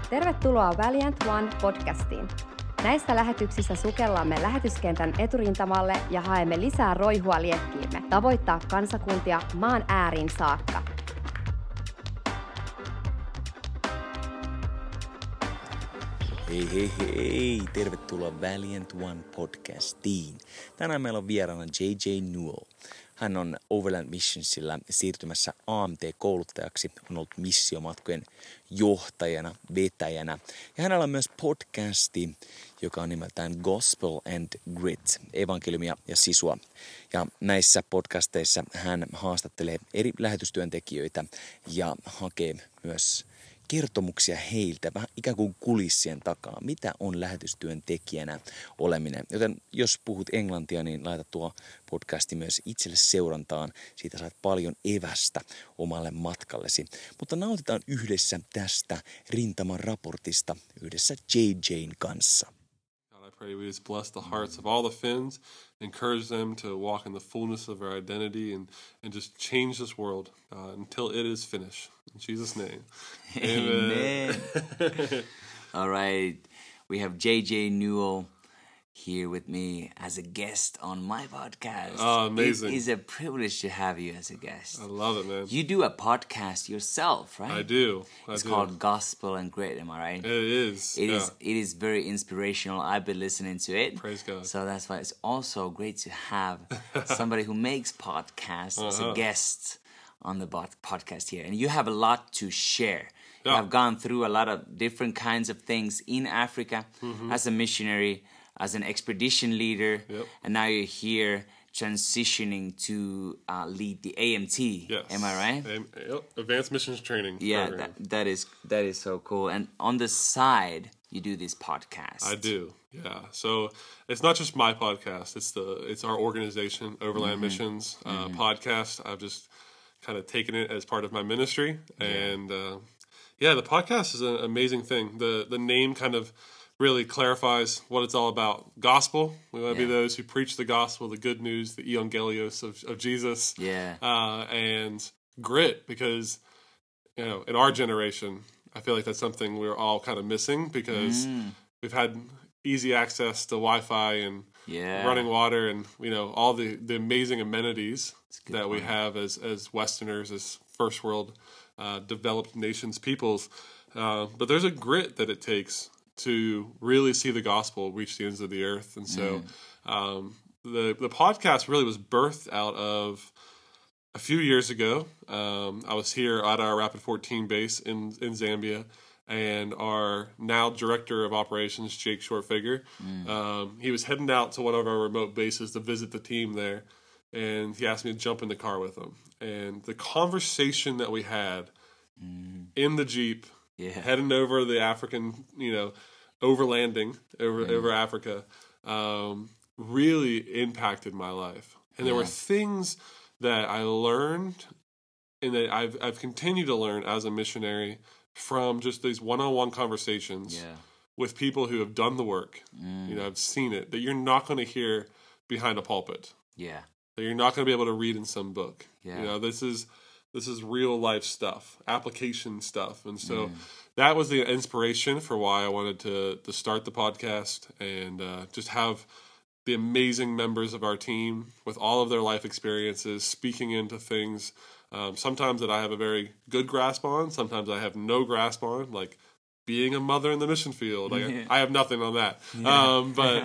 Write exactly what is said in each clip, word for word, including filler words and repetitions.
Tervetuloa Valiant One podcastiin. Näissä lähetyksissä sukellamme lähetyskentän eturintamalle ja haemme lisää roihua liekkiimme, tavoittaa kansakuntia maan ääriin saakka. Hei hei hei, tervetuloa Valiant One podcastiin. Tänään meillä on vieraana J J Newell. Hän on Overland Missionsilla siirtymässä A M T-kouluttajaksi, on ollut missiomatkojen johtajana, vetäjänä. Ja hänellä on myös podcasti, joka on nimeltään Gospel and Grit, evankeliumia ja sisua. Ja näissä podcasteissa hän haastattelee eri lähetystyöntekijöitä ja hakee myös kertomuksia heiltä, vähän ikään kuin kulissien takaa, mitä on lähetystyöntekijänä oleminen. Joten jos puhut englantia, niin laita tuo podcasti myös itselle seurantaan. Siitä saat paljon evästä omalle matkallesi. Mutta nautitaan yhdessä tästä rintaman raportista yhdessä J J:n kanssa. God, I pray we just bless the hearts of all the Finns, encourage them to walk in the fullness of their identity and, and just change this world uh, until it is finished. In Jesus' name. Amen. All right. We have J J Newell here with me as a guest on my podcast. Oh, amazing. It is a privilege to have you as a guest. I love it, man. You do a podcast yourself, right? I do. I it's do. called Gospel and Grit, am I right? It is. It yeah. is. It is very inspirational. I've been listening to it. Praise God. So that's why it's also great to have somebody who makes podcasts uh-huh. as a guest on the podcast here. And you have a lot to share. You yeah. have gone through a lot of different kinds of things in Africa mm-hmm. as a missionary, as an expedition leader, yep. and now you're here transitioning to uh, lead the A M T. Yes. Am I right? A- yep. Advanced Missions Training Yeah, program. that, that is that is so cool. And on the side, you do this podcast. I do. Yeah. So it's not just my podcast. It's the it's our organization, Overland mm-hmm. Missions uh, mm-hmm. podcast. I've just kind of taken it as part of my ministry, yeah. and uh, yeah, the podcast is an amazing thing. The the name kind of really clarifies what it's all about. Gospel. We want to yeah. be those who preach the gospel, the good news, the evangelios of, of Jesus. Yeah. Uh, and grit, because, you know, in our generation, I feel like that's something we're all kind of missing because mm. we've had easy access to Wi-Fi and yeah. running water and, you know, all the, the amazing amenities that point. we have as, as Westerners, as first world uh, developed nations, peoples. Uh, but there's a grit that it takes to really see the gospel reach the ends of the earth. And so mm. um, the the podcast really was birthed out of a few years ago. Um, I was here at our Rapid fourteen base in, in Zambia, and our now director of operations, Jake Shortfigure, mm. um, he was heading out to one of our remote bases to visit the team there, and he asked me to jump in the car with him. And the conversation that we had mm. in the Jeep, Yeah. heading over the African, you know, overlanding over mm. over Africa, um, really impacted my life. And there yeah. were things that I learned and that I've I've continued to learn as a missionary from just these one-on-one conversations yeah. with people who have done the work. Mm. You know, I've seen it, that you're not going to hear behind a pulpit. Yeah. That you're not going to be able to read in some book. Yeah. You know, this is This is real life stuff, application stuff. And so mm. that was the inspiration for why I wanted to, to start the podcast and uh, just have the amazing members of our team with all of their life experiences speaking into things, um, sometimes that I have a very good grasp on, sometimes I have no grasp on, like being a mother in the mission field. Like, yeah. I have nothing on that. Yeah. Um, but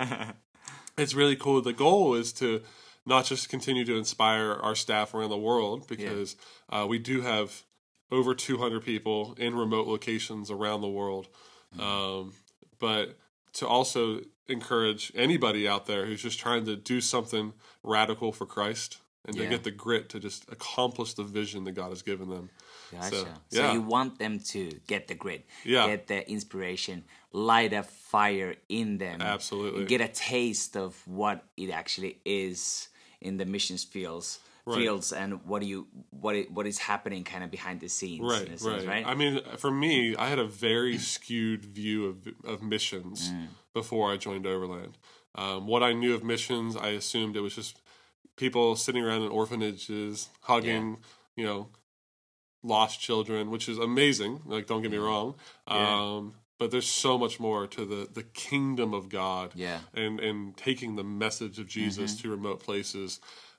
it's really cool. The goal is to not just continue to inspire our staff around the world, because yeah. uh, we do have over two hundred people in remote locations around the world, mm-hmm. um, but to also encourage anybody out there who's just trying to do something radical for Christ and yeah. to get the grit to just accomplish the vision that God has given them. Gotcha. So, so yeah. you want them to get the grit, yeah. get the inspiration, light a fire in them. Absolutely. Get a taste of what it actually is in the missions fields, right. fields, and what do you what it, what is happening kind of behind the scenes. Right, in a sense, right, right. I mean, for me, I had a very skewed view of of missions mm. before I joined Overland. Um, what I knew of missions, I assumed it was just people sitting around in orphanages, hugging, yeah. you know, lost children, which is amazing. Like, don't get me wrong. Yeah. Um, but there's so much more to the, the kingdom of God. Yeah. And, and taking the message of Jesus mm-hmm. to remote places.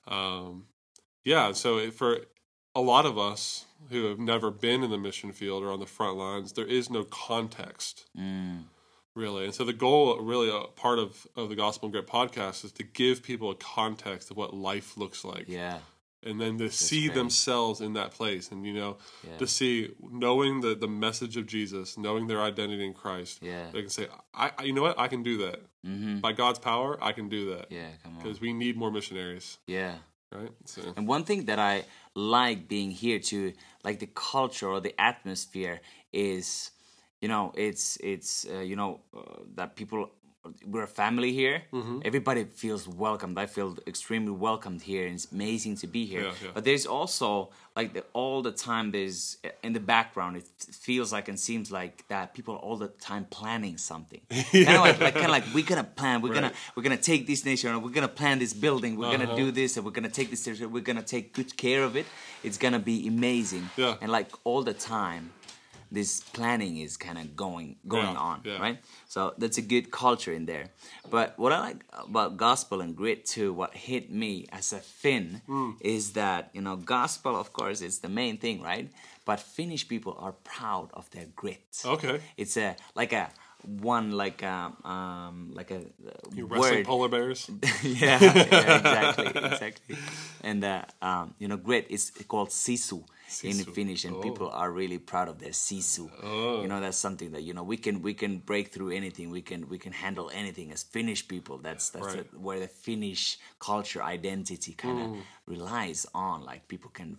Um, yeah, so for a lot of us who have never been in the mission field or on the front lines, there is no context. Mm. Really. And so the goal, really, a part of, of the Gospel and Grit podcast is to give people a context of what life looks like. Yeah. And then to That's see great. themselves in that place. And, you know, yeah. to see, knowing the, the message of Jesus, knowing their identity in Christ, yeah. they can say, I, I you know what? I can do that. Mm-hmm. By God's power, I can do that. Yeah, come on. Because we need more missionaries. Yeah. Right? So. And one thing that I like being here too, like the culture or the atmosphere is... You know, it's, it's uh, you know, uh, that people, we're a family here. Mm-hmm. Everybody feels welcomed. I feel extremely welcomed here, and it's amazing to be here. Yeah, yeah. But there's also, like, the, all the time there's, in the background, it feels like and seems like that people are all the time planning something. yeah. Kind of like, like, kind of like, we're going to plan, we're right. going to we're gonna take this nation, or we're going to plan this building, we're uh-huh. going to do this, and we're going to take this territory, we're going to take good care of it. It's going to be amazing. Yeah. And, like, all the time, this planning is kind of going going yeah, on, yeah. right? So that's a good culture in there. But what I like about Gospel and Grit too, what hit me as a Finn, mm. is that, you know, gospel, of course, is the main thing, right? But Finnish people are proud of their grit. Okay. It's a like a one like a um like a you word. Wrestling polar bears. yeah, yeah, exactly, exactly. And uh, um, you know, grit is called sisu. Sisu. In Finnish, and oh. people are really proud of their sisu. Oh. You know, that's something that, you know, we can we can break through anything. We can we can handle anything as Finnish people. That's that's right. a, where the Finnish culture identity kind of mm. relies on. Like people can,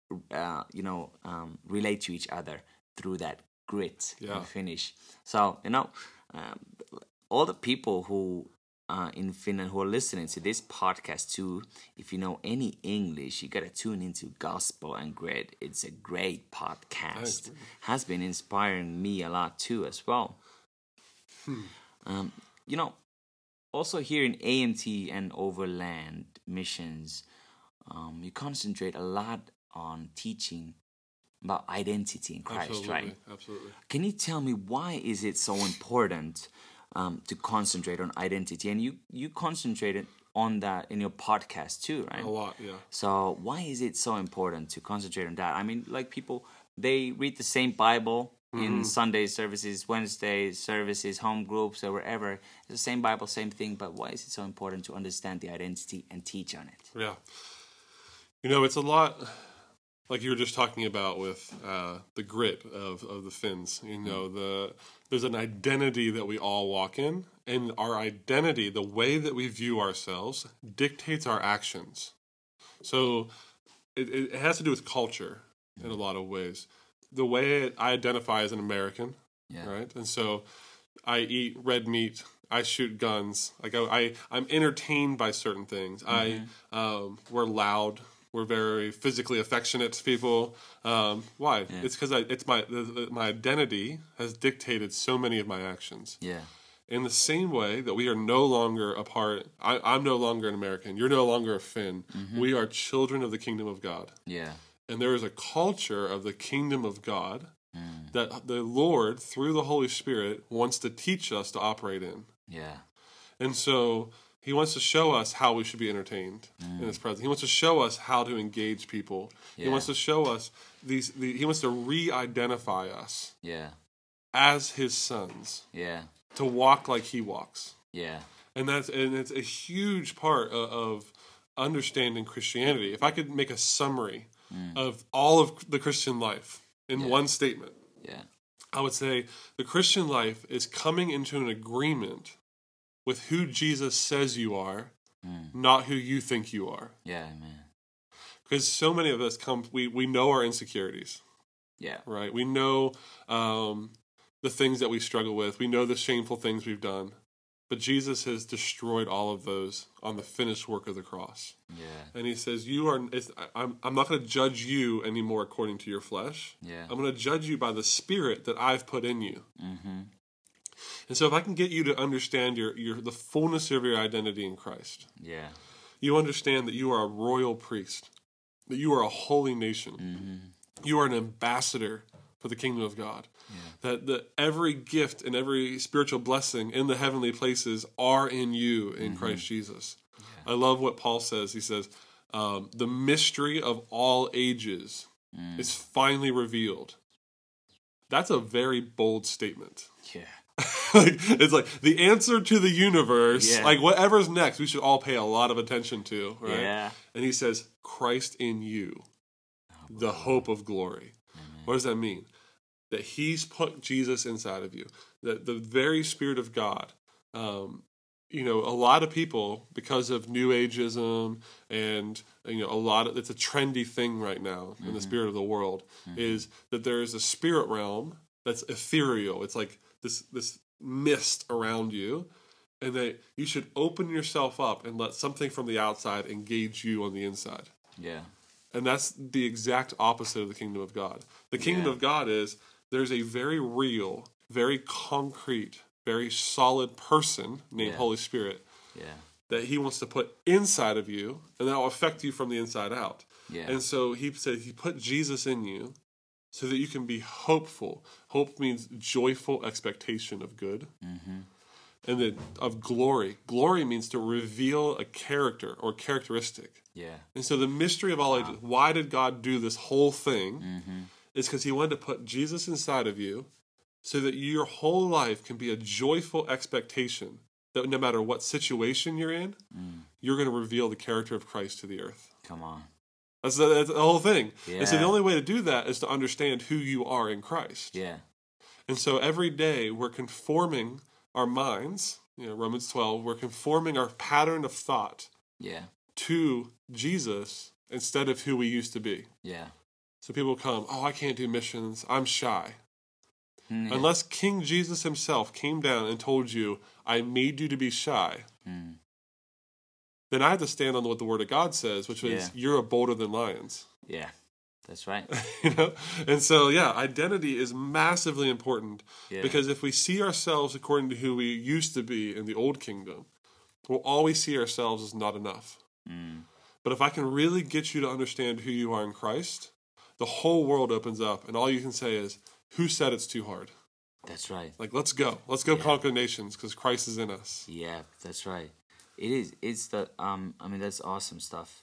uh, you know, um, relate to each other through that grit yeah. in Finnish. So, you know, um, all the people who. Uh, in Finland who are listening to this podcast too, if you know any English, you gotta tune into Gospel and Grit. It's a great podcast. Nice. Has been inspiring me a lot too as well. Hmm. Um, you know, also here in A M T and Overland Missions, um, you concentrate a lot on teaching about identity in Christ, Absolutely. right? Absolutely. Can you tell me why is it so important Um, to concentrate on identity? And you you concentrated on that in your podcast too, right? A lot, yeah. So why is it so important to concentrate on that? I mean, like people, they read the same Bible mm-hmm. in Sunday services, Wednesday services, home groups, or wherever. It's the same Bible, same thing, but why is it so important to understand the identity and teach on it? Yeah. You know, it's a lot... Like you were just talking about with uh, the grit of, of the Finns, you know, the there's an identity that we all walk in, and our identity, the way that we view ourselves, dictates our actions. So it, it has to do with culture in a lot of ways. The way I identify as an American, yeah. right? And so I eat red meat, I shoot guns, like I, I I'm entertained by certain things. Mm-hmm. I um, we're loud. We're very physically affectionate to people. Um, why? Yeah. It's because it's my the, the, my identity has dictated so many of my actions. Yeah. In the same way that we are no longer a part. I, I'm no longer an American. You're no longer a Finn. Mm-hmm. We are children of the kingdom of God. Yeah. And there is a culture of the kingdom of God mm. that the Lord, through the Holy Spirit, wants to teach us to operate in. Yeah. And so He wants to show us how we should be entertained mm. in His presence. He wants to show us how to engage people. Yeah. He wants to show us these. The, he wants to re-identify us. Yeah. As His sons. Yeah. To walk like He walks. Yeah. And that's and it's a huge part of, of understanding Christianity. If I could make a summary mm. of all of the Christian life in yeah. one statement, yeah, I would say the Christian life is coming into an agreement with who Jesus says you are, mm. not who you think you are. Yeah, man. Because so many of us come, we, we know our insecurities. Yeah. Right? We know um, the things that we struggle with. We know the shameful things we've done. But Jesus has destroyed all of those on the finished work of the cross. Yeah. And He says, "You are. It's, I'm. I'm not going to judge you anymore according to your flesh. Yeah. I'm going to judge you by the Spirit that I've put in you." Mm-hmm. And so, if I can get you to understand your your the fullness of your identity in Christ, yeah, you understand that you are a royal priest, that you are a holy nation, mm-hmm. you are an ambassador for the kingdom of God. Yeah. That the, every gift and every spiritual blessing in the heavenly places are in you in mm-hmm. Christ Jesus. Yeah. I love what Paul says. He says, um, the mystery of all ages mm. is finally revealed. That's a very bold statement. Yeah. like, it's like the answer to the universe, yeah. like whatever's next, we should all pay a lot of attention to, right? Yeah. And he says, Christ in you, oh, the hope of glory. Amen. What does that mean? That he's put Jesus inside of you. That the very Spirit of God, um, you know, a lot of people, because of New Ageism and, you know, a lot of, it's a trendy thing right now mm-hmm. in the spirit of the world, mm-hmm. is that there is a spirit realm that's ethereal. It's like this this mist around you, and that you should open yourself up and let something from the outside engage you on the inside. Yeah. And that's the exact opposite of the kingdom of God. The kingdom yeah. of God is there's a very real, very concrete, very solid person named yeah. Holy Spirit yeah. that he wants to put inside of you, and that will affect you from the inside out. Yeah. And so he said he put Jesus in you so that you can be hopeful. Hope means joyful expectation of good. Mm-hmm. And then of glory. Glory means to reveal a character or characteristic. Yeah. And so the mystery of all wow. ages, why did God do this whole thing? Mm-hmm. Is because he wanted to put Jesus inside of you so that your whole life can be a joyful expectation that no matter what situation you're in, mm. you're going to reveal the character of Christ to the earth. Come on. That's the, that's the whole thing. Yeah. And so the only way to do that is to understand who you are in Christ. Yeah. And so every day we're conforming our minds, you know, Romans twelve, we're conforming our pattern of thought yeah. to Jesus instead of who we used to be. Yeah. So people come, oh, I can't do missions. I'm shy. Mm, yeah. Unless King Jesus himself came down and told you, I made you to be shy, mm. then I have to stand on what the Word of God says, which means yeah. you're bolder than lions. Yeah, that's right. You know? And so, yeah, identity is massively important yeah. because if we see ourselves according to who we used to be in the old kingdom, we'll always see ourselves as not enough. Mm. But if I can really get you to understand who you are in Christ, the whole world opens up, and all you can say is, who said it's too hard? That's right. Like, let's go. Let's go yeah. conquer nations because Christ is in us. Yeah, that's right. It is. It's the, um, I mean, that's awesome stuff.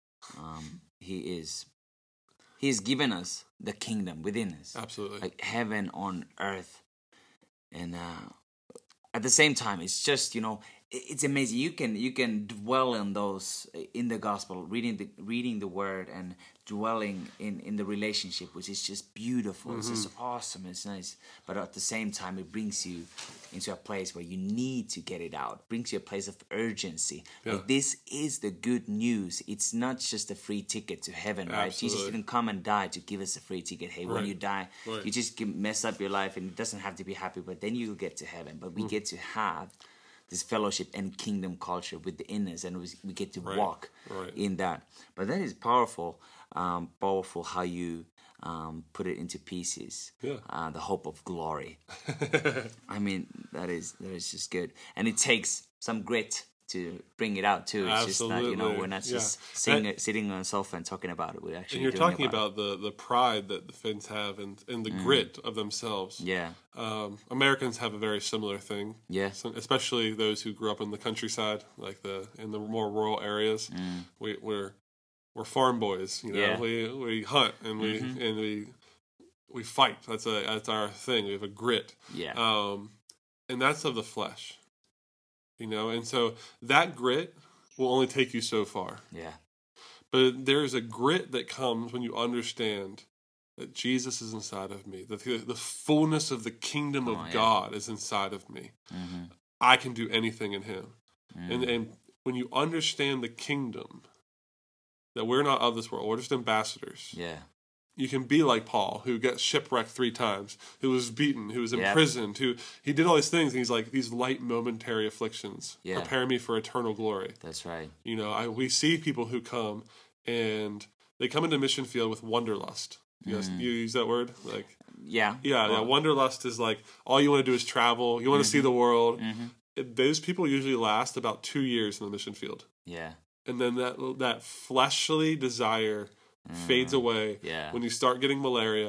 Um, he is, he's given us the kingdom within us. Absolutely. Like heaven on earth. And uh, at the same time, it's just, you know, it's amazing. You can you can dwell in those in the gospel, reading the reading the word and dwelling in, in the relationship, which is just beautiful. Mm-hmm. It's just awesome. It's nice, but at the same time, it brings you into a place where you need to get it out. It brings you a place of urgency. Yeah. Like this is the good news. It's not just a free ticket to heaven, right? Absolutely. Jesus didn't come and die to give us a free ticket. Hey, right. when you die, right. you just mess up your life, and it doesn't have to be happy. But then you get to heaven. But we mm. get to have this fellowship and kingdom culture with the inners, and we get to right. walk right. in that. But that is powerful, um, powerful how you um, put it into pieces. Yeah. Uh, the hope of glory. I mean, that is that is just good, and it takes some grit to bring it out too. It's Absolutely. just not, you know, we're not just yeah. sitting, that, sitting on a sofa and talking about it. We're actually and you're doing talking about, about the, the pride that the Finns have and, and the mm. grit of themselves. Yeah. Um, Americans have a very similar thing. Yeah. So, especially those who grew up in the countryside, like the in the more rural areas. Mm. We, we're we're farm boys. You know, Yeah. we we hunt and we mm-hmm. and we we fight. That's a that's our thing. We have a grit. Yeah. Um, and that's of the flesh. You know, and so that grit will only take you so far. Yeah. But there is a grit that comes when you understand that Jesus is inside of me, that the, the fullness of the kingdom of oh, yeah. God is inside of me. Mm-hmm. I can do anything in him. Mm. And, and when you understand the kingdom, that we're not of this world, we're just ambassadors. Yeah. You can be like Paul, who got shipwrecked three times, who was beaten, who was Yep. imprisoned, who he did all these things, and he's like, these light momentary afflictions Yeah. prepare me for eternal glory. That's right. You know, I, we see people who come and they come into mission field with wanderlust. You, guys, Mm. you use that word? Like, Yeah. yeah, Well, yeah. Wanderlust is like all you want to do is travel. You want to see the world. Mm-hmm. It- those people usually last about two years in the mission field, Yeah. and then that that fleshly desire fades away Yeah. when you start getting malaria,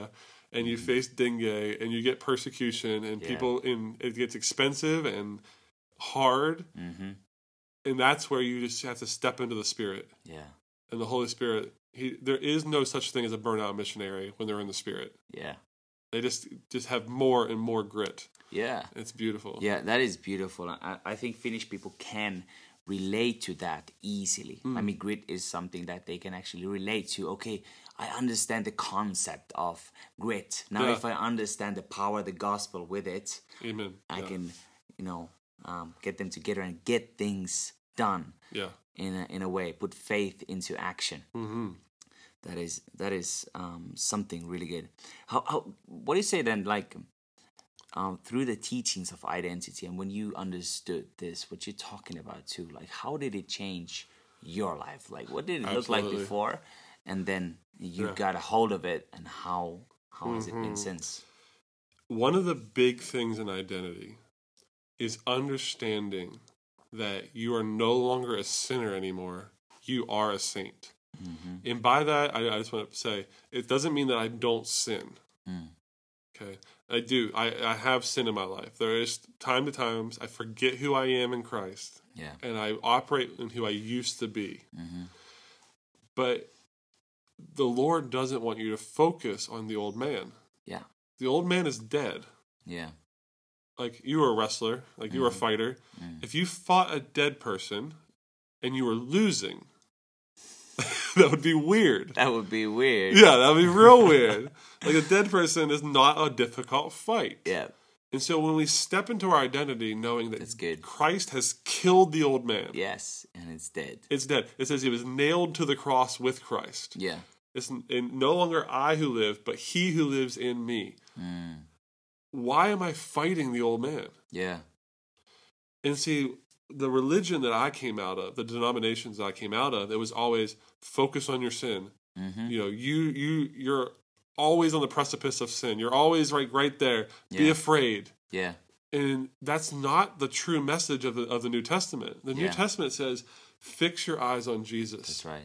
and you face dengue and you get persecution and Yeah. people in it gets expensive and hard, Mm-hmm. and that's where you just have to step into the Spirit. Yeah. And the Holy Spirit, he, there is no such thing as a burnout missionary when they're in the Spirit. Yeah. They just just have more and more grit. Yeah. It's beautiful. Yeah, that is beautiful. I, I think Finnish people can relate to that easily. I mean, grit is something that they can actually relate to. Okay, I understand the concept of grit. Now, Yeah. if I understand the power of the gospel with it, Amen. I Yeah. can, you know, um, get them together and get things done Yeah. in a, in a way, put faith into action. Mm-hmm. That is that is um, something really good. How, how what do you say then? Like um, through the teachings of identity, and when you understood this, what you're talking about too, like how did it change your life? Like what did it look like Absolutely. before, and then you Yeah. got a hold of it, and how how has it been since? One of the big things in identity is understanding that you are no longer a sinner anymore. You are a saint. Mm-hmm. And by that, I, I just want to say, it doesn't mean that I don't sin. Mm. Okay. I do. I, I have sin in my life. There is time to times I forget who I am in Christ. Yeah. And I operate in who I used to be. Mm-hmm. But the Lord doesn't want you to focus on the old man. Yeah. The old man is dead. Yeah. Like, you were a wrestler. Like, you were a fighter. Mm. If you fought a dead person and you were losing, that would be weird. That would be weird. Yeah, that would be real weird. Like, a dead person is not a difficult fight. Yeah. And so when we step into our identity knowing that That's good. Christ has killed the old man, Yes, and it's dead. it's dead. It says he was nailed to the cross with Christ. Yeah. It's n- no longer I who live, but he who lives in me. Mm. Why am I fighting the old man? Yeah. And see, the religion that I came out of, the denominations that I came out of, it was always focus on your sin. Mm-hmm. You know, you you you're always on the precipice of sin. You're always right right there. Be Yeah. afraid. Yeah. And that's not the true message of the of the New Testament. The New Yeah. Testament says, fix your eyes on Jesus. That's right.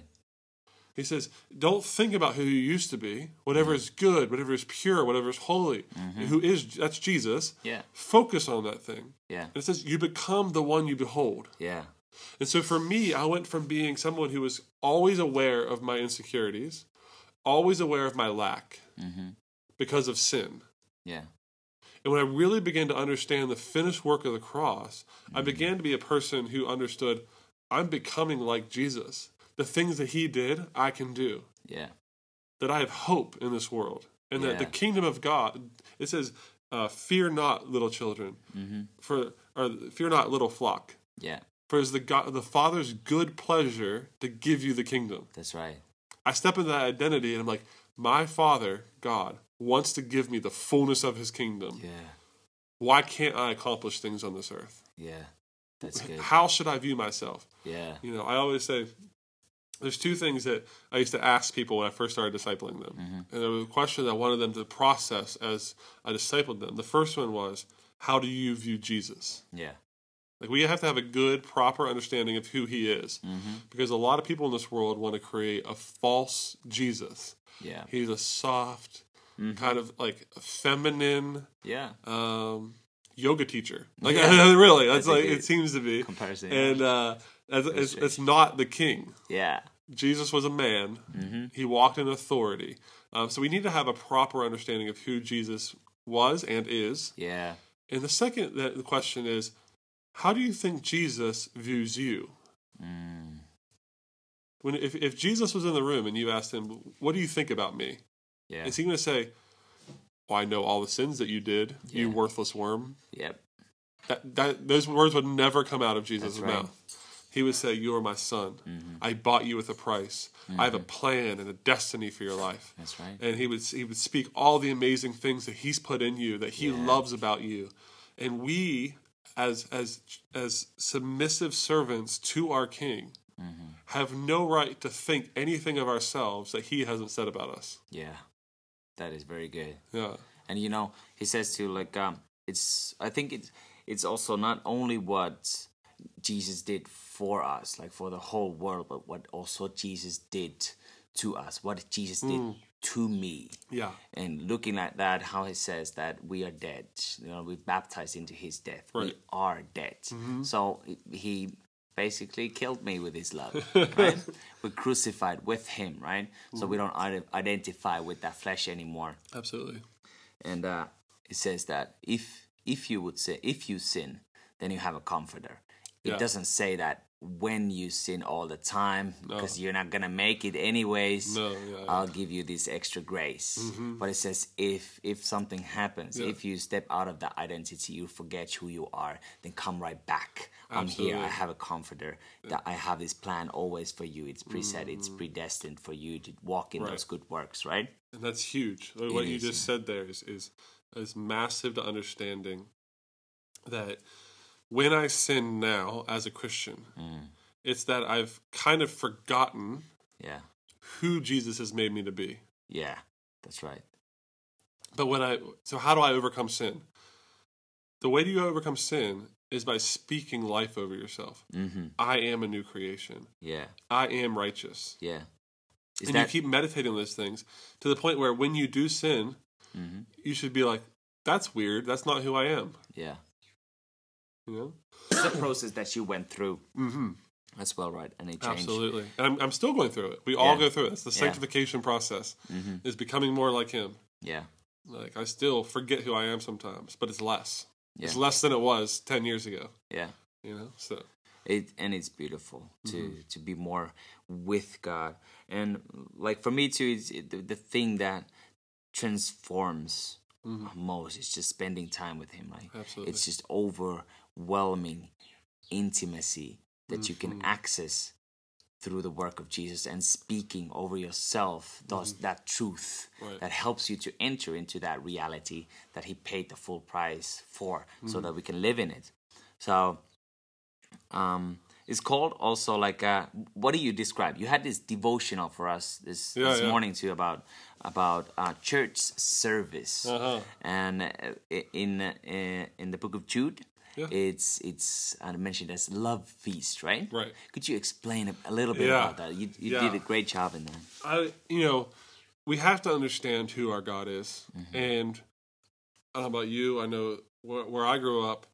He says, don't think about who you used to be. Whatever is good, whatever is pure, whatever is holy, Mm-hmm. who is, that's Jesus. Yeah. Focus on that thing. Yeah. And it says, you become the one you behold. Yeah. And so for me, I went from being someone who was always aware of my insecurities, always aware of my lack Mm-hmm. because of sin. Yeah. And when I really began to understand the finished work of the cross, I Mm-hmm. began to be a person who understood I'm becoming like Jesus. The things that he did, I can do. Yeah. That I have hope in this world. And that the Yeah. kingdom of God, it says, uh, fear not, little children, Mm-hmm. for or fear not, little flock. Yeah. For it is the, God, the Father's good pleasure to give you the kingdom. That's right. I step into that identity and I'm like, my Father, God, wants to give me the fullness of his kingdom. Yeah. Why can't I accomplish things on this earth? Yeah. That's good. How should I view myself? Yeah. You know, I always say, there's two things that I used to ask people when I first started discipling them. Mm-hmm. And there was a question that I wanted them to process as I discipled them. The first one was, how do you view Jesus? Yeah. Like, we have to have a good, proper understanding of who he is. Mm-hmm. Because a lot of people in this world want to create a false Jesus. Yeah. He's a soft, Mhm. kind of like feminine Yeah. um, yoga teacher. Like, Yeah. really, that's, That's a like, good it seems to be. Comparison. And uh, it's, it's, it's not the king. yeah. Jesus was a man. Mm-hmm. He walked in authority. Um, so we need to have a proper understanding of who Jesus was and is. Yeah. And the second the question is, how do you think Jesus views you? Mm. When if, if Jesus was in the room and you asked him, what do you think about me? Yeah. Is he going to say, well, I know all the sins that you did, you Yeah. worthless worm? Yep. That, that Those words would never come out of Jesus' That's right. mouth. He would say, you are my son. Mm-hmm. I bought you with a price. I have a plan and a destiny for your life. That's right. And he would he would speak all the amazing things that he's put in you, that he Yeah. loves about you. And we, as as as submissive servants to our King, Mm-hmm. have no right to think anything of ourselves that he hasn't said about us. Yeah. That is very good. Yeah. And you know, he says to like um it's I think it's it's also not only what Jesus did for us, like for the whole world, but what also Jesus did to us, what Jesus did Mm. to me. Yeah. And looking at that, how he says that we are dead. You know, we're baptized into his death. Right. We are dead. Mm-hmm. So he basically killed me with his love, right? We're crucified with him, right? So Mm-hmm. we don't ide- identify with that flesh anymore. Absolutely. And uh, it says that if if you would say, if you sin, then you have a comforter. It Yeah. doesn't say that when you sin all the time, No. because you're not going to make it anyways, No, yeah, yeah. I'll give you this extra grace. Mm-hmm. But it says if if something happens, Yeah. if you step out of that identity, you forget who you are, then come right back. I'm Absolutely. here. I have a comforter. That I have this plan always for you. It's preset. It's predestined for you to walk in Mm-hmm. Right. those good works, right? And that's huge. What you is, just yeah. said there is, is is massive to understanding that when I sin now as a Christian, Mm. it's that I've kind of forgotten Yeah. who Jesus has made me to be. Yeah. That's right. But when I so how do I overcome sin? The way you overcome sin is by speaking life over yourself. Mm-hmm. I am a new creation. Yeah. I am righteous. Yeah. Is and that you keep meditating on those things to the point where when you do sin, mm-hmm. you should be like, that's weird. That's not who I am. Yeah. You know? It's a process that you went through Mm-hmm. as well, right? And it changed. Absolutely. And I'm, I'm still going through it. We all Yeah. go through it. It's the Yeah. sanctification process, Mm-hmm. is becoming more like him. Yeah. Like, I still forget who I am sometimes, but it's less. Yeah. It's less than it was ten years ago. Yeah. You know? So, It and it's beautiful to Mm-hmm. to be more with God, and like for me too, it's it, the, the thing that transforms Mhm. most is just spending time with Him. Like Absolutely. it's just overwhelming intimacy that you can Mhm. access through the work of Jesus and speaking over yourself those that truth Mm-hmm. Right. that helps you to enter into that reality that He paid the full price for, Mm-hmm. so that we can live in it. So. Um, it's called also like uh, what do you describe? You had this devotional for us this, Yeah, this yeah. morning too about about uh, church service, Uh-huh. and uh, in uh, in the book of Jude, Yeah. it's it's uh, mentioned as love feast, right? Right. Could you explain a, a little bit Yeah. about that? You you Yeah. did a great job in that. I, you know, we have to understand who our God is. Mm-hmm. And I don't know about you, I know where, where I grew up,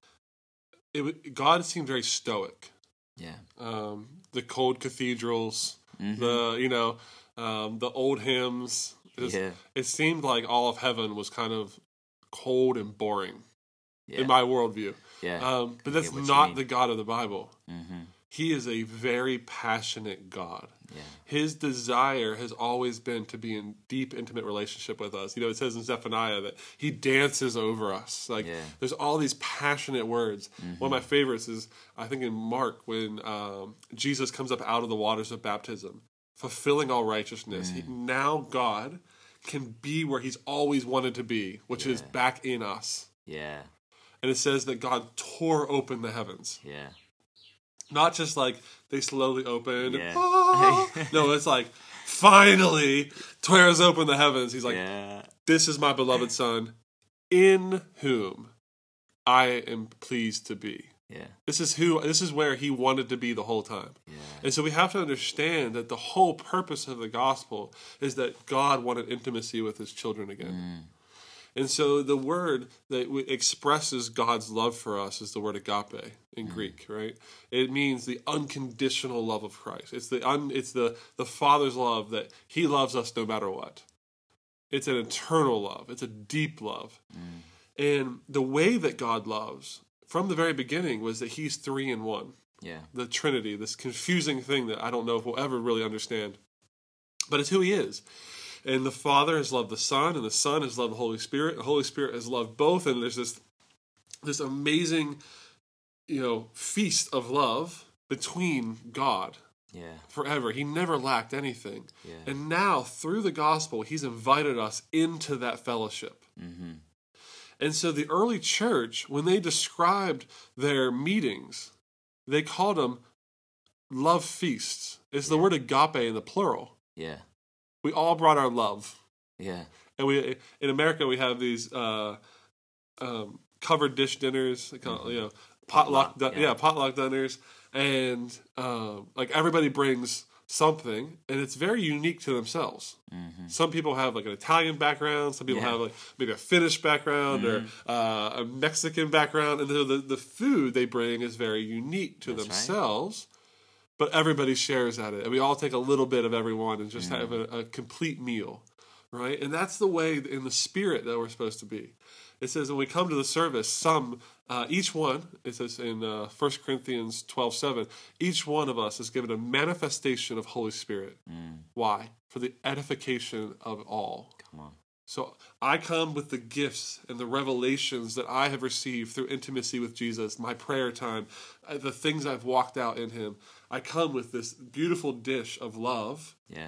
it, wa- God seemed very stoic. Yeah. Um, the cold cathedrals, Mhm. the, you know, um, the old hymns. It, was- Yeah. it seemed like all of heaven was kind of cold and boring Yeah. in my worldview. yeah. Um, but that's what you not mean. the God of the Bible. mm-hmm. He is a very passionate God. Yeah. His desire has always been to be in deep, intimate relationship with us. You know, it says in Zephaniah that he dances over us. Like, Yeah. there's all these passionate words. One of my favorites is, I think in Mark, when um, Jesus comes up out of the waters of baptism, fulfilling all righteousness. He, now God can be where he's always wanted to be, which is Yeah. back in us. Yeah. And it says that God tore open the heavens. Yeah. Not just like they slowly opened. Yeah. Ah! No, it's like finally tears open the heavens. He's like, yeah. this is my beloved son, in whom I am pleased to be. Yeah. This is who. This is where he wanted to be the whole time. Yeah. And so we have to understand that the whole purpose of the gospel is that God wanted intimacy with his children again. Mm. And so the word that w- expresses God's love for us is the word agape in Greek, right? It means the unconditional love of Christ. It's the un, it's the, the Father's love that he loves us no matter what. It's an eternal love. It's a deep love. And the way that God loves from the very beginning was that he's three in one. Yeah. The Trinity, this confusing thing that I don't know if we'll ever really understand. But it's who he is. And the Father has loved the Son, and the Son has loved the Holy Spirit. The Holy Spirit has loved both, and there's this this amazing, you know, feast of love between God Yeah. forever. He never lacked anything. Yeah. And now, through the gospel, he's invited us into that fellowship. Mm-hmm. And so the early church, when they described their meetings, they called them love feasts. It's the word agape in the plural. Yeah. We all brought our love. Yeah. And we in America we have these uh, um, covered dish dinners, they call it, you know, potluck, Potluck, di- yeah. yeah. potluck dinners, and um, like everybody brings something, and it's very unique to themselves. Mm-hmm. Some people have like an Italian background. Some people yeah. have like maybe a Finnish background mm-hmm. or uh, a Mexican background, and the, the the food they bring is very unique to That's themselves. Right. But everybody shares at it, and we all take a little bit of everyone and just mm. have a, a complete meal, right? And that's the way in the spirit that we're supposed to be. It says when we come to the service, some, uh, each one, it says in uh, First Corinthians twelve seven, each one of us is given a manifestation of Holy Spirit. Mm. Why? For the edification of all. Come on. So I come with the gifts and the revelations that I have received through intimacy with Jesus, my prayer time, the things I've walked out in him. I come with this beautiful dish of love. Yeah.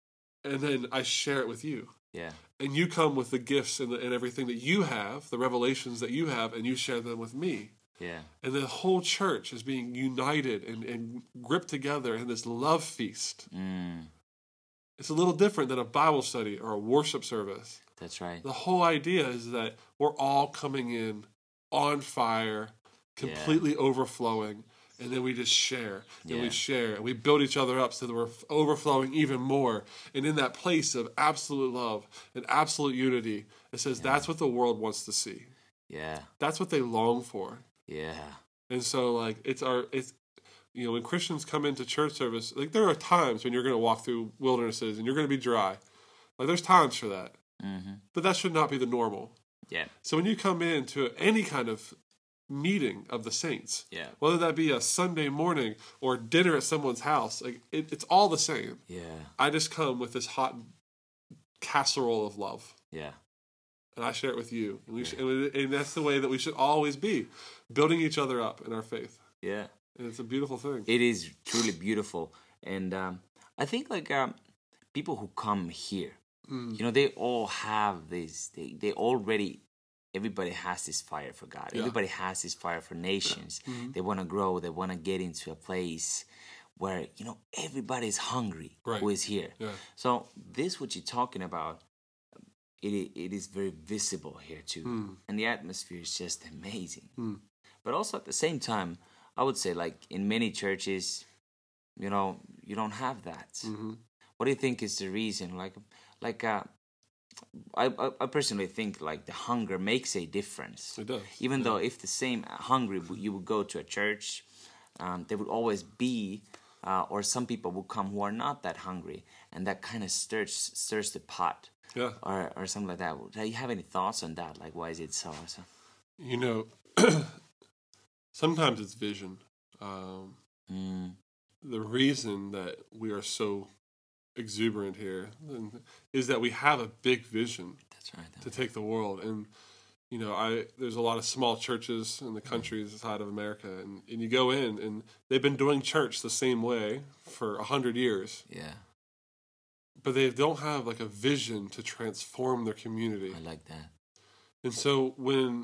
And then I share it with you. Yeah. And you come with the gifts and, the, and everything that you have, the revelations that you have, and you share them with me. Yeah. And the whole church is being united and, and gripped together in this love feast. Mm. It's a little different than a Bible study or a worship service. That's right. The whole idea is that we're all coming in on fire, completely yeah. overflowing, and then we just share, and yeah. we share, and we build each other up so that we're overflowing even more. And in that place of absolute love and absolute unity, it says yeah. that's what the world wants to see. Yeah. That's what they long for. Yeah. And so, like, it's our, it's, you know, when Christians come into church service, like, there are times when you're going to walk through wildernesses and you're going to be dry. Like, there's times for that. Mm-hmm. But that should not be the normal. Yeah. So when you come into any kind of meeting of the saints, yeah. whether that be a Sunday morning or dinner at someone's house, like it, it's all the same. Yeah. I just come with this hot casserole of love. Yeah. And I share it with you. And, we yeah. should, and, and that's the way that we should always be, building each other up in our faith. Yeah. And it's a beautiful thing. It is truly beautiful. And um, I think like um, people who come here, mm. you know, they all have this, they, they already, everybody has this fire for God. Yeah. Everybody has this fire for nations. Yeah. Mm-hmm. They want to grow. They want to get into a place where, you know, everybody's hungry right. who is here. Yeah. So this, what you're talking about, it it is very visible here too. Mm. And the atmosphere is just amazing. Mm. But also at the same time, I would say like in many churches, you know, you don't have that. Mm-hmm. What do you think is the reason? Like, like uh, I, I personally think like the hunger makes a difference. It does. Even yeah. though if the same hungry you would go to a church, um, there would always be, uh, or some people would come who are not that hungry, and that kind of stirs stirs the pot. Yeah. Or or something like that. Do you have any thoughts on that? Like, why is it so? so? You know, sometimes it's vision. Um, mm. The reason that we are so exuberant here is that we have a big vision. That's right. That's to take the world. And, you know, I there's a lot of small churches in the countries outside of America. And, and you go in, and they've been doing church the same way for a hundred years. Yeah. But they don't have like a vision to transform their community. I like that. And so when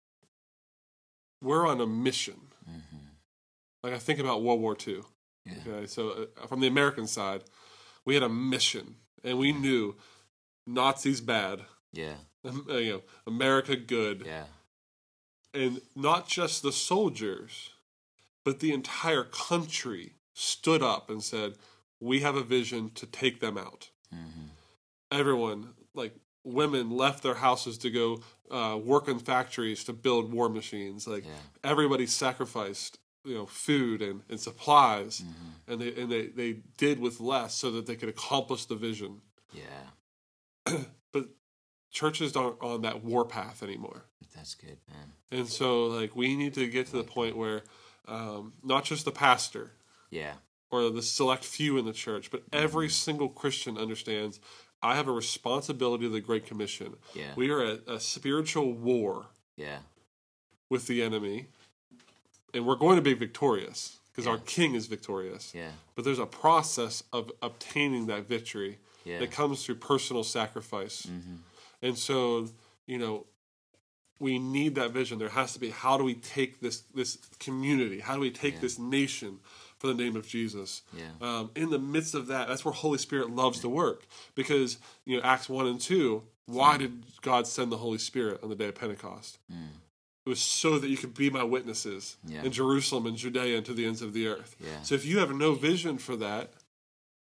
we're on a mission, mm-hmm. like I think about World War Two. Yeah. Okay, so uh, from the American side, we had a mission, and we knew Nazis bad. Yeah. Um, uh, you know, America good. Yeah. And not just the soldiers, but the entire country stood up and said, we have a vision to take them out. Mm-hmm. Everyone, like women, left their houses to go uh, work in factories to build war machines. Like yeah. everybody sacrificed, you know, food and, and supplies, mm-hmm. and they and they, they did with less so that they could accomplish the vision. Yeah. But churches aren't on that war path anymore. That's good, man. And so, like, we need to get to the point where um, not just the pastor. Yeah. Or the select few in the church, but every single Christian understands I have a responsibility to the Great Commission. Yeah. We are at a spiritual war yeah. with the enemy, and we're going to be victorious because yeah. our King is victorious. Yeah. But there's a process of obtaining that victory yeah. that comes through personal sacrifice. Mm-hmm. And so, you know, we need that vision. There has to be, how do we take this, this community? How do we take yeah. this nation for the name of Jesus? Yeah. Um, in the midst of that, that's where Holy Spirit loves yeah. to work. Because, you know, Acts one and two, why mm. did God send the Holy Spirit on the day of Pentecost? Mm. It was so that you could be my witnesses yeah. in Jerusalem and Judea and to the ends of the earth. Yeah. So if you have no vision for that,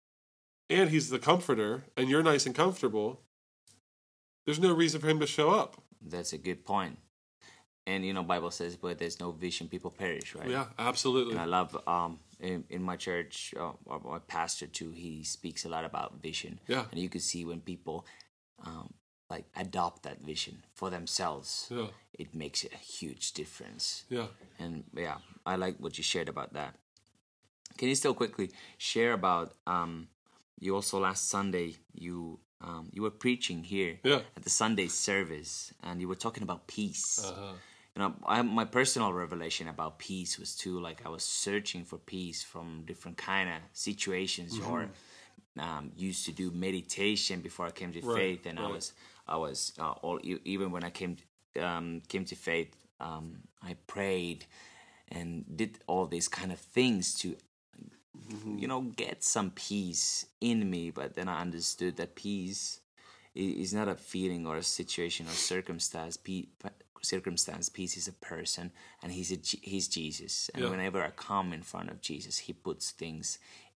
and he's the comforter, and you're nice and comfortable, there's no reason for him to show up. That's a good point. And, you know, Bible says, where there's no vision, people perish, right? Yeah, absolutely. And I love, um, in, in my church, uh, my pastor too, he speaks a lot about vision. Yeah. And you can see when people, um, like, adopt that vision for themselves, yeah. it makes a huge difference. Yeah. And, yeah, I like what you shared about that. Can you still quickly share about, um, you also last Sunday, you um, you were preaching here yeah. at the Sunday service, and you were talking about peace. Uh-huh. You know, I, my personal revelation about peace was too, like, I was searching for peace from different kind of situations, mm-hmm. or um, used to do meditation before I came to right. faith, and right. I was, I was uh, all even when I came um, came to faith, um, I prayed and did all these kind of things to, mm-hmm. you know, get some peace in me. But then I understood that peace is not a feeling or a situation or circumstance. Pe- circumstance peace is a person, and he's a, he's Jesus, and yeah. whenever I come in front of Jesus, he puts things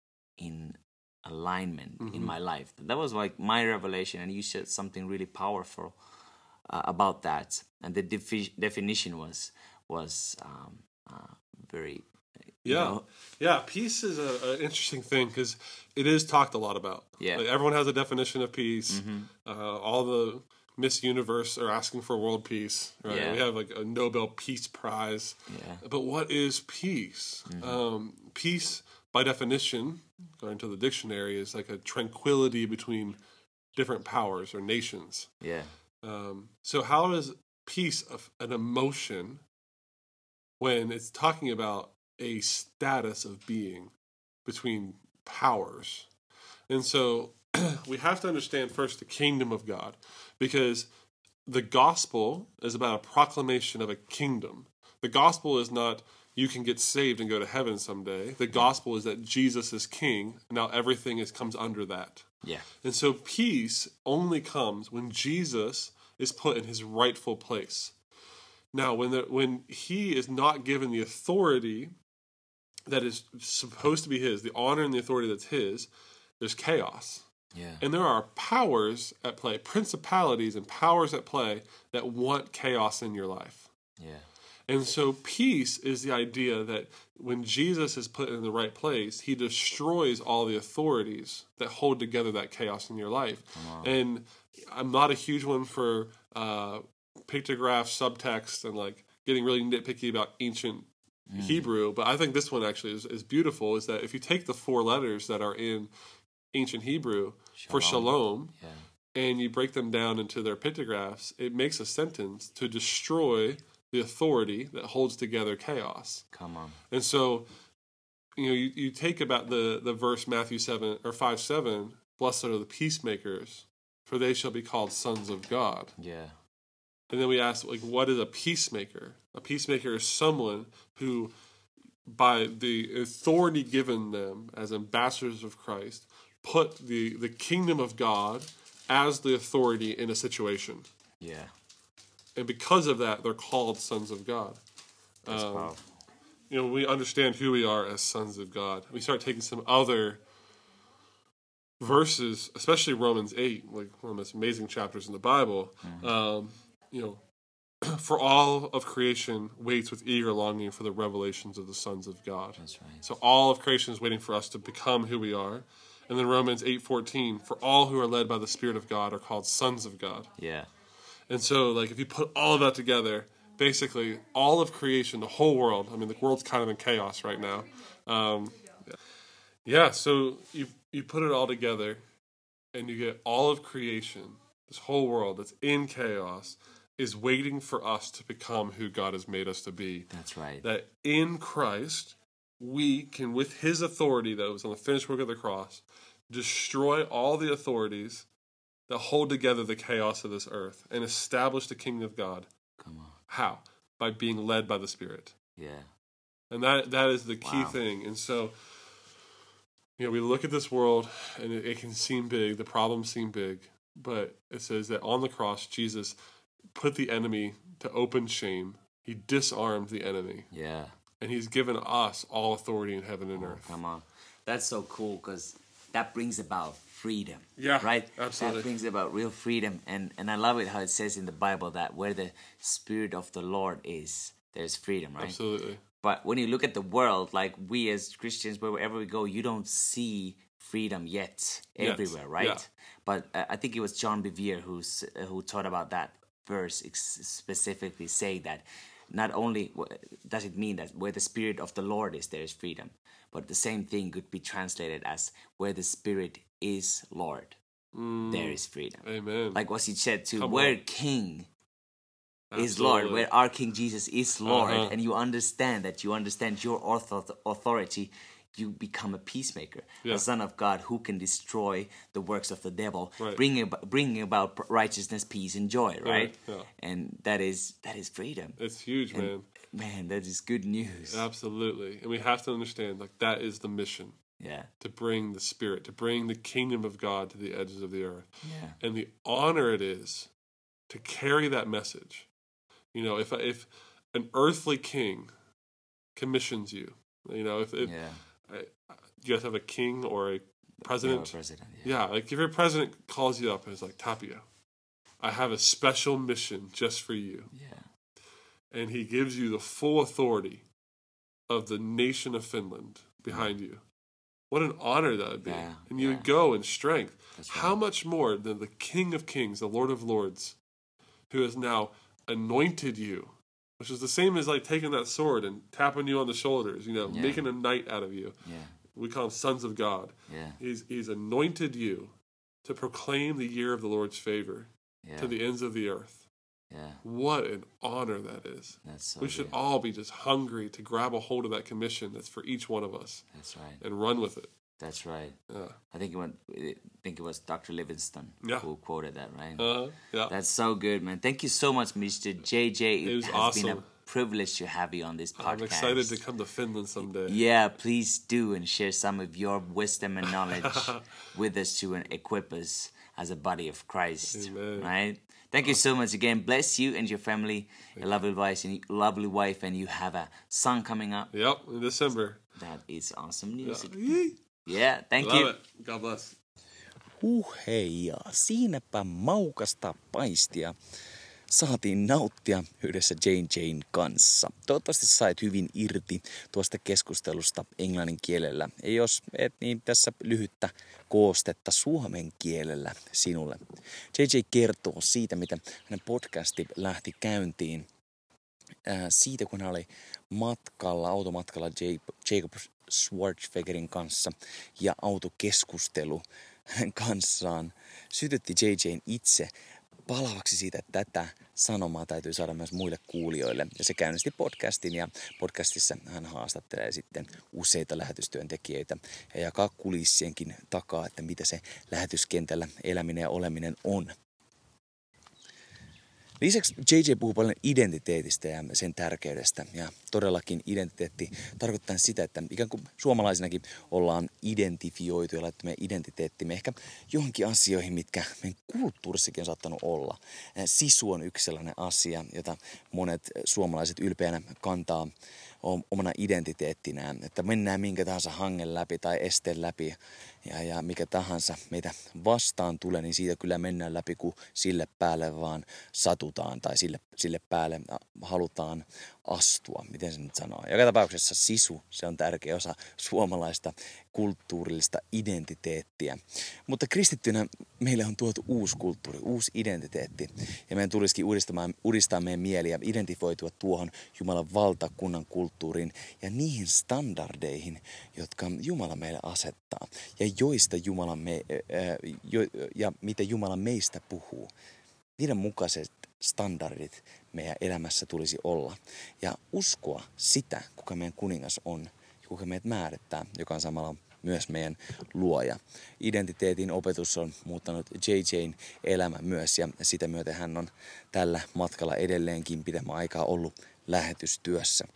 in alignment mm-hmm. in my life. That was like my revelation, and you said something really powerful uh, about that, and the defi- definition was was um, uh, very yeah know, yeah peace is an interesting thing, because it is talked a lot about. Yeah, like, everyone has a definition of peace. Mm-hmm. uh, all the Miss Universe are asking for world peace, right? Yeah. We have like a Nobel Peace Prize. Yeah. But what is peace? Mm-hmm. Um, peace, by definition, according to the dictionary, is like a tranquility between different powers or nations. Yeah. Um, so how is peace an emotion when it's talking about a status of being between powers? And so we have to understand first the kingdom of God, because the gospel is about a proclamation of a kingdom. The gospel is not you can get saved and go to heaven someday. The gospel is that Jesus is king. Now everything is comes under that. Yeah. And so peace only comes when Jesus is put in his rightful place. Now, when the, when he is not given the authority that is supposed to be his, the honor and the authority that's his, there's chaos. Yeah. And there are powers at play, principalities and powers at play that want chaos in your life. Yeah. And so peace is the idea that when Jesus is put in the right place, he destroys all the authorities that hold together that chaos in your life. Wow. And I'm not a huge one for uh, pictograph, subtext, and like getting really nitpicky about ancient mm. Hebrew, but I think this one actually is, is beautiful, is that if you take the four letters that are in ancient Hebrew shalom. for shalom, yeah. and you break them down into their pictographs, it makes a sentence to destroy the authority that holds together chaos. Come on. And so, you know, you, you take about the, the verse Matthew seven or five seven, blessed are the peacemakers, for they shall be called sons of God. Yeah. And then we ask, like, what is a peacemaker? A peacemaker is someone who, by the authority given them as ambassadors of Christ, put the, the kingdom of God as the authority in a situation. Yeah. And because of that, they're called sons of God. That's um, powerful. You know, we understand who we are as sons of God. We start taking some other verses, especially Romans eight, like one of the most amazing chapters in the Bible. Mm-hmm. Um, you know, for all of creation waits with eager longing for the revelations of the sons of God. That's right. So all of creation is waiting for us to become who we are. And then Romans eight fourteen, for all who are led by the Spirit of God are called sons of God. Yeah. And so, like, if you put all of that together, basically all of creation, the whole world, I mean, the world's kind of in chaos right now. Um, yeah, so you you put it all together, and you get all of creation, this whole world that's in chaos, is waiting for us to become who God has made us to be. That's right. That in Christ, we can, with his authority that was on the finished work of the cross, destroy all the authorities that hold together the chaos of this earth and establish the kingdom of God. Come on. How? By being led by the Spirit. Yeah. And that that is the key wow. thing. And so, you know, we look at this world and it, it can seem big, the problems seem big, but it says that on the cross, Jesus put the enemy to open shame. He disarmed the enemy. Yeah. And he's given us all authority in heaven and oh, earth. Come on. That's so cool, because that brings about freedom. Yeah, right? absolutely. That brings about real freedom. And, and I love it how it says in the Bible that where the Spirit of the Lord is, there's freedom, right? Absolutely. But when you look at the world, like we as Christians, wherever we go, you don't see freedom yet everywhere, right? Yeah. But uh, I think it was John Bevere who's, uh, who taught about that verse ex- specifically, saying that not only w- does it mean that where the Spirit of the Lord is, there is freedom, but the same thing could be translated as where the Spirit is Lord, Mm. there is freedom. Amen. Like what he said too, Come where on. King Absolutely. is Lord, where our King Jesus is Lord, Uh-huh. and you understand that, you understand your author- authority, you become a peacemaker, Yeah. a son of God who can destroy the works of the devil, Right. bringing about, bringing about righteousness, peace, and joy, right? yeah. And that is that is freedom. It's huge, And, man. man, that is good news. Absolutely. And we have to understand, like, that is the mission, Yeah, to bring the Spirit, to bring the kingdom of God to the edges of the earth. yeah, And the honor it is to carry that message. You know, if if an earthly king commissions you, you know, if, if yeah. I, you guys have a king or a president, Yeah, president. Yeah. yeah, like if your president calls you up and is like, Tapio, I have a special mission just for you. yeah, And he gives you the full authority of the nation of Finland behind you. What an honor that would be. Yeah, and you yeah. would go in strength. That's How right. much more than the King of Kings, the Lord of Lords, who has now anointed you, which is the same as like taking that sword and tapping you on the shoulders, you know, Yeah. making a knight out of you. Yeah, We call them sons of God. yeah, He's, he's anointed you to proclaim the year of the Lord's favor yeah, to the ends of the earth. yeah. What an honor that is. That's so We should good. all be just hungry to grab a hold of that commission that's for each one of us That's right. and run with it. That's right. Yeah. I think it went, I think it was Doctor Livingston Yeah. who quoted that, right? Uh, yeah. That's so good, man. Thank you so much, Mister J J. It, It was has been a awesome. privilege to have you on this podcast. I'm excited to come to Finland someday. Yeah, please do and share some of your wisdom and knowledge with us to equip us as a body of Christ. Amen. Right? Thank you so much again. Bless you and your family, a lovely wife and lovely wife, and you have a son coming up. Yep, in December. That is awesome news. Yeah. Yeah, thank Love you. it. God bless. Huh hei, ja siinäpä maukasta paistia saatiin nauttia yhdessä Jane Jane kanssa. Toivottavasti sait hyvin irti tuosta keskustelusta englannin kielellä. Ja jos et, niin tässä lyhyttä koostetta suomen kielellä sinulle. J J kertoo siitä, miten hänen podcasti lähti käyntiin. Ää, siitä, kun hän oli matkalla, automatkalla Jacob Schwarzeneggerin kanssa ja autokeskustelu hänen kanssaan sytytti J J:n itse palavaksi siitä, että tätä sanomaa täytyy saada myös muille kuulijoille. Ja se käynnisti podcastin ja podcastissa hän haastattelee sitten useita lähetystyöntekijöitä ja jakaa kulissienkin takaa, että mitä se lähetyskentällä eläminen ja oleminen on. Lisäksi J J puhuu paljon identiteetistä ja sen tärkeydestä. Ja todellakin identiteetti tarkoittaa sitä, että ikään kuin suomalaisinakin ollaan identifioitu ja laittu meidän identiteettimme ehkä johonkin asioihin, mitkä meidän kulttuurissakin on saattanut olla. Sisu on yksi sellainen asia, jota monet suomalaiset ylpeänä kantaa omana identiteettinään, että mennään minkä tahansa hangen läpi tai esteen läpi ja, ja mikä tahansa meitä vastaan tulee, niin siitä kyllä mennään läpi, kun sille päälle vaan satutaan tai sille, sille päälle halutaan astua, miten se nyt sanoo. Joka tapauksessa sisu, se on tärkeä osa suomalaista kulttuurillista identiteettiä. Mutta kristittynä meille on tuotu uusi kulttuuri, uusi identiteetti. Ja meidän tulisikin uudistamaan, uudistaa meidän mieli ja identifoitua tuohon Jumalan valtakunnan kulttuuriin ja niihin standardeihin, jotka Jumala meille asettaa. Ja joista Jumala me, ää, jo, ja mitä Jumala meistä puhuu. Niiden mukaiset standardit meidän elämässä tulisi olla. Ja uskoa sitä, kuka meidän kuningas on ja kuka meidät määrittää, joka on samalla myös meidän luoja. Identiteetin opetus on muuttanut J J:n elämä myös ja sitä myöten hän on tällä matkalla edelleenkin pidemmän aikaa ollut lähetystyössä.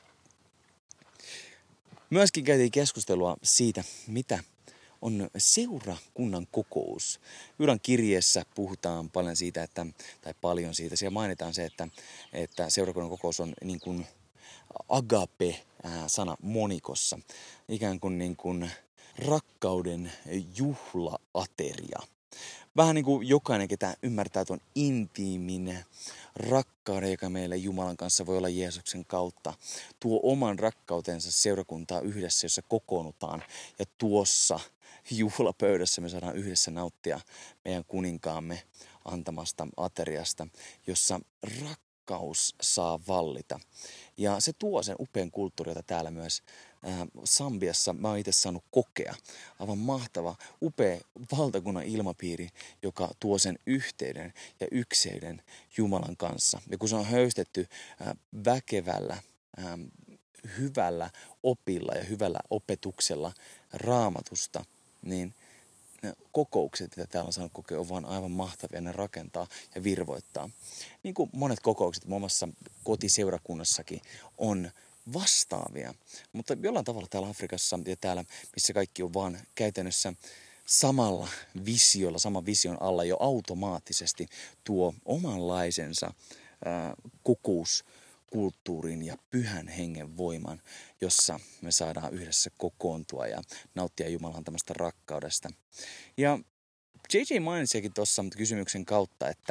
Myöskin käytiin keskustelua siitä, mitä on seurakunnan kokous. Juudan kirjeessä puhutaan paljon siitä, että, tai paljon siitä, siellä mainitaan se, että, että seurakunnan kokous on niin kuin agape-sana monikossa. Ikään kuin, niin kuin rakkauden juhlaateria. Vähän niin kuin jokainen, ketä ymmärtää tuon intiimin rakkauden, joka meillä Jumalan kanssa voi olla Jeesuksen kautta, tuo oman rakkautensa seurakuntaa yhdessä, jossa kokoonnutaan. Ja tuossa juhlapöydässä me saadaan yhdessä nauttia meidän kuninkaamme antamasta ateriasta, jossa rakkaus saa vallita. Ja se tuo sen upean kulttuurin, jota täällä myös ää, Sambiassa mä oon itse saanut kokea. Aivan mahtava, upea valtakunnan ilmapiiri, joka tuo sen yhteyden ja ykseyden Jumalan kanssa. Ja kun se on höystetty ää, väkevällä, ää, hyvällä opilla ja hyvällä opetuksella Raamatusta, niin ne kokoukset, mitä täällä on saanut kokea, on vaan aivan mahtavia. Ne rakentaa ja virvoittaa. Niin kuin monet kokoukset muun muassa kotiseurakunnassakin on vastaavia. Mutta jollain tavalla täällä Afrikassa ja täällä, missä kaikki on vaan käytännössä samalla visiolla, saman vision alla jo automaattisesti tuo omanlaisensa ää, kokous kulttuurin ja pyhän hengen voiman, jossa me saadaan yhdessä kokoontua ja nauttia Jumalan antamasta rakkaudesta. Ja J J mainitsikin tuossa kysymyksen kautta, että,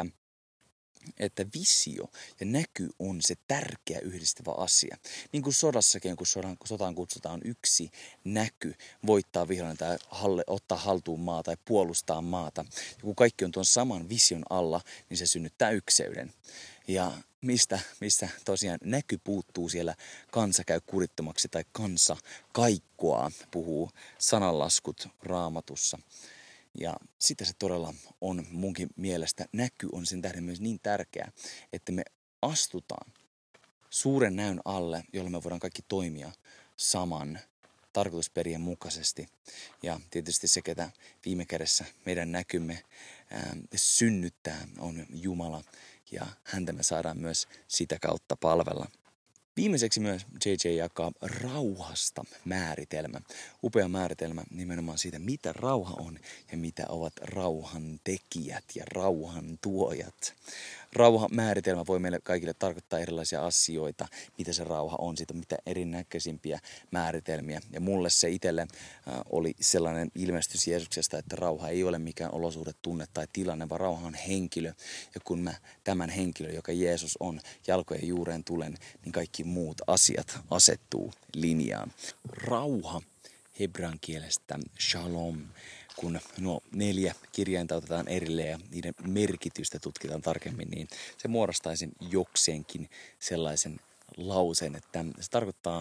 että visio ja näky on se tärkeä yhdistävä asia. Niin kuin sodassakin, kun sodan, sotaan kutsutaan yksi näky voittaa vihollinen tai halle, ottaa haltuun maata tai puolustaa maata. Ja kun kaikki on tuon saman vision alla, niin se synnyttää ykseyden. Ja mistä, mistä tosiaan näky puuttuu siellä, kansa käy kurittomaksi tai kansa kaikkoa, puhuu sananlaskut Raamatussa. Ja sitä se todella on munkin mielestä. Näky on sen tähden myös niin tärkeä, että me astutaan suuren näyn alle, jolla me voidaan kaikki toimia saman tarkoitusperien mukaisesti. Ja tietysti se, ketä viime kädessä meidän näkymme ää, synnyttää, on Jumala. Ja häntä me saadaan myös sitä kautta palvella. Viimeiseksi myös J J jakaa rauhasta määritelmä. Upea määritelmä nimenomaan siitä, mitä rauha on ja mitä ovat rauhan tekijät ja rauhan tuojat. Rauhan määritelmä voi meille kaikille tarkoittaa erilaisia asioita, mitä se rauha on. Siitä on mitä erinäköisimpiä määritelmiä. Ja mulle se itselle äh, oli sellainen ilmestys Jeesuksesta, että rauha ei ole mikään olosuhde, tunne tai tilanne, vaan rauha on henkilö. Ja kun mä tämän henkilön, joka Jeesus on, jalkojen juureen tulen, niin kaikki muut asiat asettuu linjaan. Rauha hebrean kielestä shalom. Kun nuo neljä kirjainta otetaan erilleen ja niiden merkitystä tutkitaan tarkemmin, niin se muodostaisi jokseenkin sellaisen lauseen, että se tarkoittaa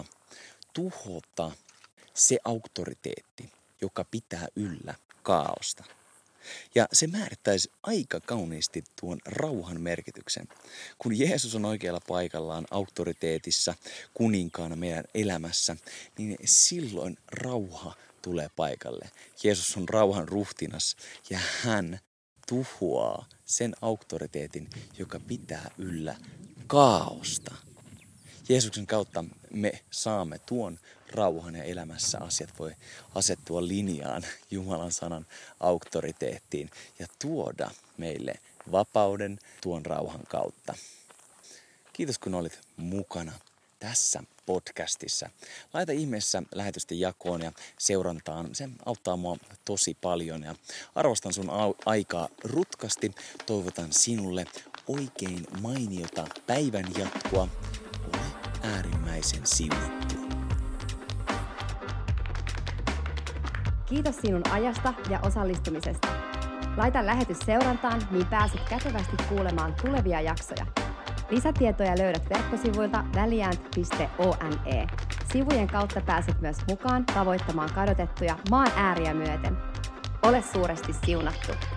tuhota se auktoriteetti, joka pitää yllä kaaosta. Ja se määrittäisi aika kauniisti tuon rauhan merkityksen. Kun Jeesus on oikealla paikallaan auktoriteetissa, kuninkaana meidän elämässä, niin silloin rauha tulee paikalle. Jeesus on rauhan ruhtinas ja hän tuhoaa sen auktoriteetin, joka pitää yllä kaaosta. Jeesuksen kautta me saamme tuon rauhan ja elämässä asiat voi asettua linjaan Jumalan sanan auktoriteettiin ja tuoda meille vapauden tuon rauhan kautta. Kiitos kun olit mukana tässä podcastissa. Laita ihmeessä lähetysten jakoon ja seurantaan. Se auttaa mua tosi paljon ja arvostan sun aikaa rutkasti. Toivotan sinulle oikein mainiota päivän jatkoa. Ole äärimmäisen siunattu. Kiitos sinun ajasta ja osallistumisesta. Laita lähetys seurantaan, niin pääset kätevästi kuulemaan tulevia jaksoja. Lisätietoja löydät verkkosivuilta valiant piste one. Sivujen kautta pääset myös mukaan tavoittamaan kadotettuja maan ääriä myöten. Ole suuresti siunattu!